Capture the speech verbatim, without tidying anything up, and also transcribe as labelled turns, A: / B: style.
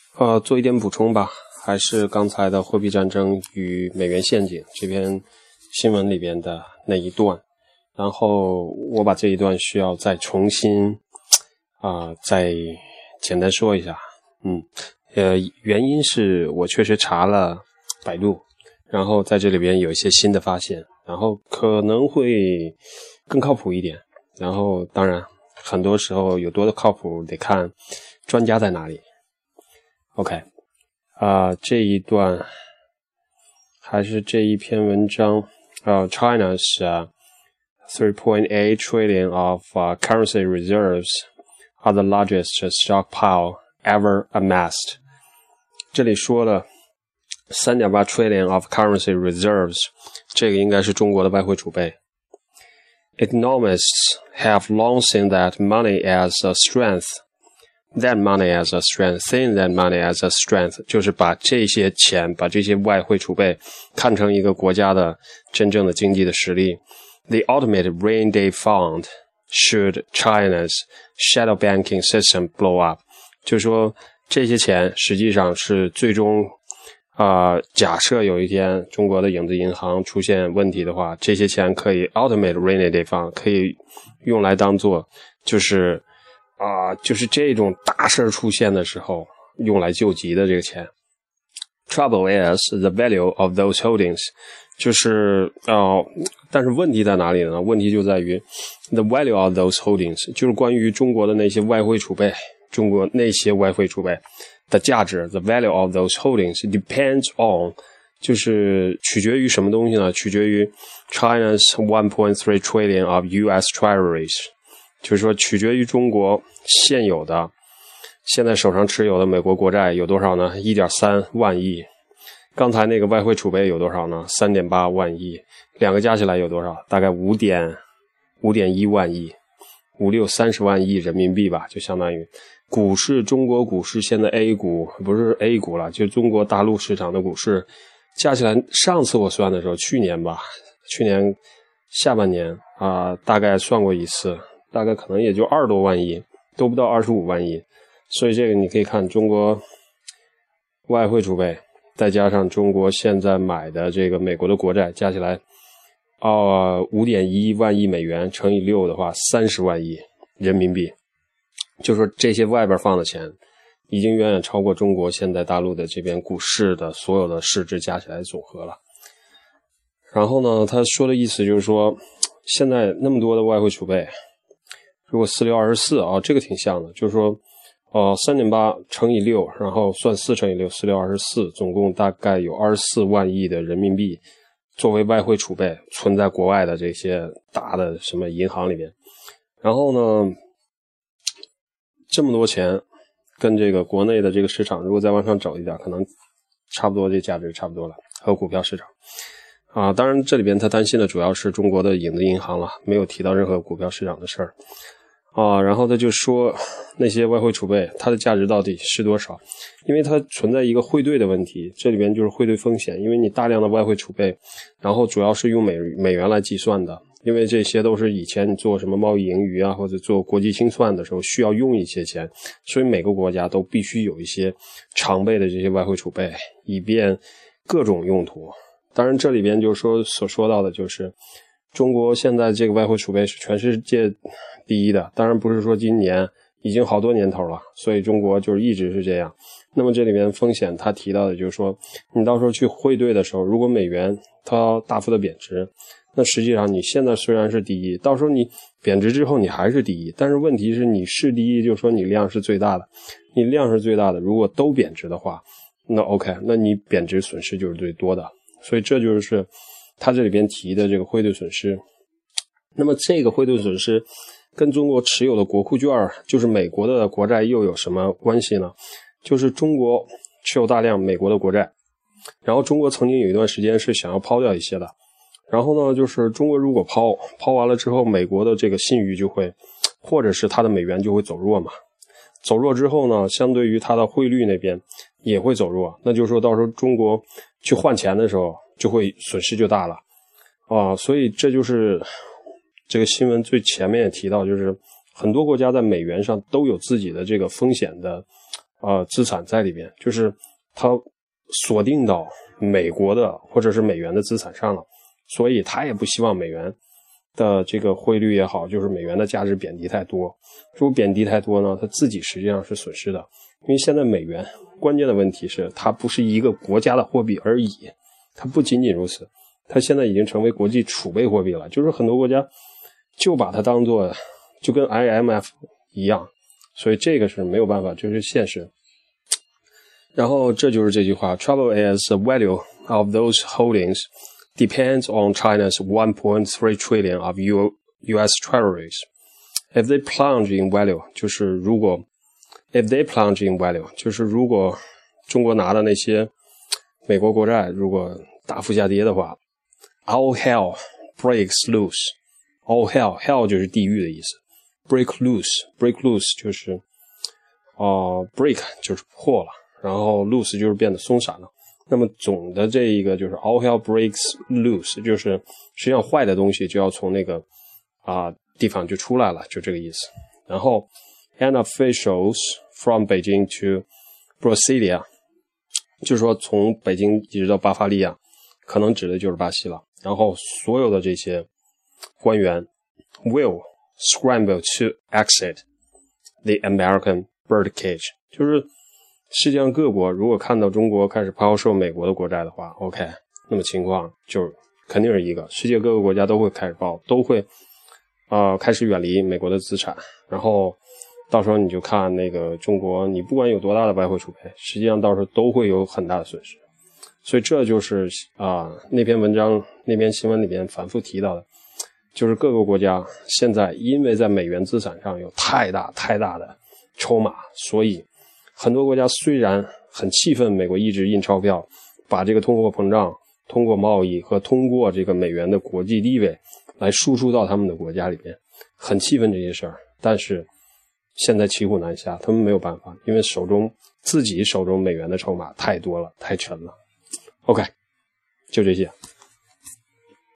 A: 呃，做一点补充吧，还是刚才的货币战争与美元陷阱这篇新闻里边的那一段，然后我把这一段需要再重新啊、呃，再简单说一下。嗯，呃，原因是我确实查了百度，然后在这里边有一些新的发现，然后可能会更靠谱一点。然后当然，很多时候有多的靠谱得看专家在哪里。OK， 啊、呃，这一段还是这一篇文章。呃、uh, China's uh, three point eight trillion of uh, currency reserves are the largest stockpile ever amassed. 这里说了 三点八 trillion of currency reserves， 这个应该是中国的外汇储备。Economists have long seen that money as a strength.That money as a strength, seeing that money as a strength， 就是把这些钱，把这些外汇储备看成一个国家的真正的经济的实力。The ultimate rainy day fund should China's shadow banking system blow up， 就是说这些钱实际上是最终啊、呃，假设有一天中国的影子银行出现问题的话，这些钱可以 ultimate rainy day fund 可以用来当做就是啊、呃，就是这种大事出现的时候用来救急的这个钱。Trouble is the value of those holdings， 就是呃，但是问题在哪里呢？问题就在于 the value of those holdings， 就是关于中国的那些外汇储备，中国那些外汇储备的价值。The value of those holdings depends on， 就是取决于什么东西呢？取决于 China's one point three trillion of U S treasuries。就是说取决于中国现有的现在手上持有的美国国债有多少呢？ 一点三万亿。刚才那个外汇储备有多少呢？ 三点八万亿。两个加起来有多少？大概五点五点一万亿，五六三十万亿人民币吧，就相当于股市，中国股市现在 A 股不是 A 股了，就中国大陆市场的股市加起来，上次我算的时候去年吧，去年下半年啊、呃，大概算过一次，大概可能也就二十多万亿，都不到二十五万亿。所以这个你可以看中国外汇储备再加上中国现在买的这个美国的国债加起来呃 五点一万亿美元乘以六的话三十万亿人民币。就说这些外边放的钱已经远远超过中国现在大陆的这边股市的所有的市值加起来总和了。然后呢他说的意思就是说现在那么多的外汇储备，如果四六二十四啊，这个挺像的，就是说呃 三点八 乘以六，然后算四乘以六，四六二十四，总共大概有二十四万亿的人民币作为外汇储备存在国外的这些大的什么银行里面。然后呢这么多钱跟这个国内的这个市场如果再往上走一点，可能差不多这价值差不多了，和股票市场啊，当然这里边他担心的主要是中国的影子银行了，没有提到任何股票市场的事儿啊。然后他就说那些外汇储备它的价值到底是多少，因为它存在一个汇兑的问题，这里边就是汇兑风险，因为你大量的外汇储备，然后主要是用美美元来计算的，因为这些都是以前你做什么贸易盈余啊，或者做国际清算的时候需要用一些钱，所以每个国家都必须有一些常备的这些外汇储备，以便各种用途。当然这里边就是说所说到的就是中国现在这个外汇储备是全世界第一的，当然不是说今年，已经好多年头了，所以中国就是一直是这样。那么这里面风险他提到的就是说你到时候去汇兑的时候，如果美元它大幅的贬值，那实际上你现在虽然是第一，到时候你贬值之后你还是第一，但是问题是你是第一，就是说你量是最大的，你量是最大的，如果都贬值的话，那 OK， 那你贬值损失就是最多的。所以这就是他这里边提的这个汇兑损失。那么这个汇兑损失跟中国持有的国库券，就是美国的国债又有什么关系呢？就是中国持有大量美国的国债，然后中国曾经有一段时间是想要抛掉一些的，然后呢就是中国如果抛抛完了之后，美国的这个信誉就会，或者是它的美元就会走弱嘛，走弱之后呢，相对于它的汇率那边也会走弱，那就是说到时候中国去换钱的时候就会损失就大了啊。所以这就是这个新闻最前面也提到，就是很多国家在美元上都有自己的这个风险的呃资产在里边，就是它锁定到美国的或者是美元的资产上了，所以他也不希望美元的这个汇率也好，就是美元的价值贬低太多。如果贬低太多呢，他自己实际上是损失的，因为现在美元关键的问题是它不是一个国家的货币而已，它不仅仅如此，它现在已经成为国际储备货币了，就是很多国家就把它当作就跟 I M F 一样，所以这个是没有办法，就是现实。然后这就是这句话 Trouble is the value of those holdings depends on China's one point three trillion of U S treasuries. If they plunge in value, 就是如果 if they plunge in value, 就是如果中国拿的那些美国国债如果大幅下跌的话， all hell breaks loose. All hell, hell 就是地狱的意思， break loose, break loose 就是呃 break 就是破了，然后 loose 就是变得松散了。那么总的这一个就是 all hell breaks loose， 就是实际上坏的东西就要从那个啊、呃、地方就出来了，就这个意思。然后 and officials from Beijing to Brasilia， 就是说从北京一直到巴伐利亚，可能指的就是巴西了。然后所有的这些官员 will scramble to exit the American birdcage， 就是世界上各国如果看到中国开始抛售美国的国债的话 OK， 那么情况就肯定是一个世界各个国家都会开始抛，都会呃开始远离美国的资产，然后到时候你就看那个中国，你不管有多大的外汇储备，实际上到时候都会有很大的损失。所以这就是啊、呃、那篇文章那篇新闻里面反复提到的，就是各个国家现在因为在美元资产上有太大太大的筹码，所以很多国家虽然很气愤美国一直印钞票，把这个通货膨胀通过贸易和通过这个美元的国际地位来输出到他们的国家里面，很气愤这些事儿，但是现在骑虎难下，他们没有办法，因为手中自己手中美元的筹码太多了，太沉了。OK， 就这些。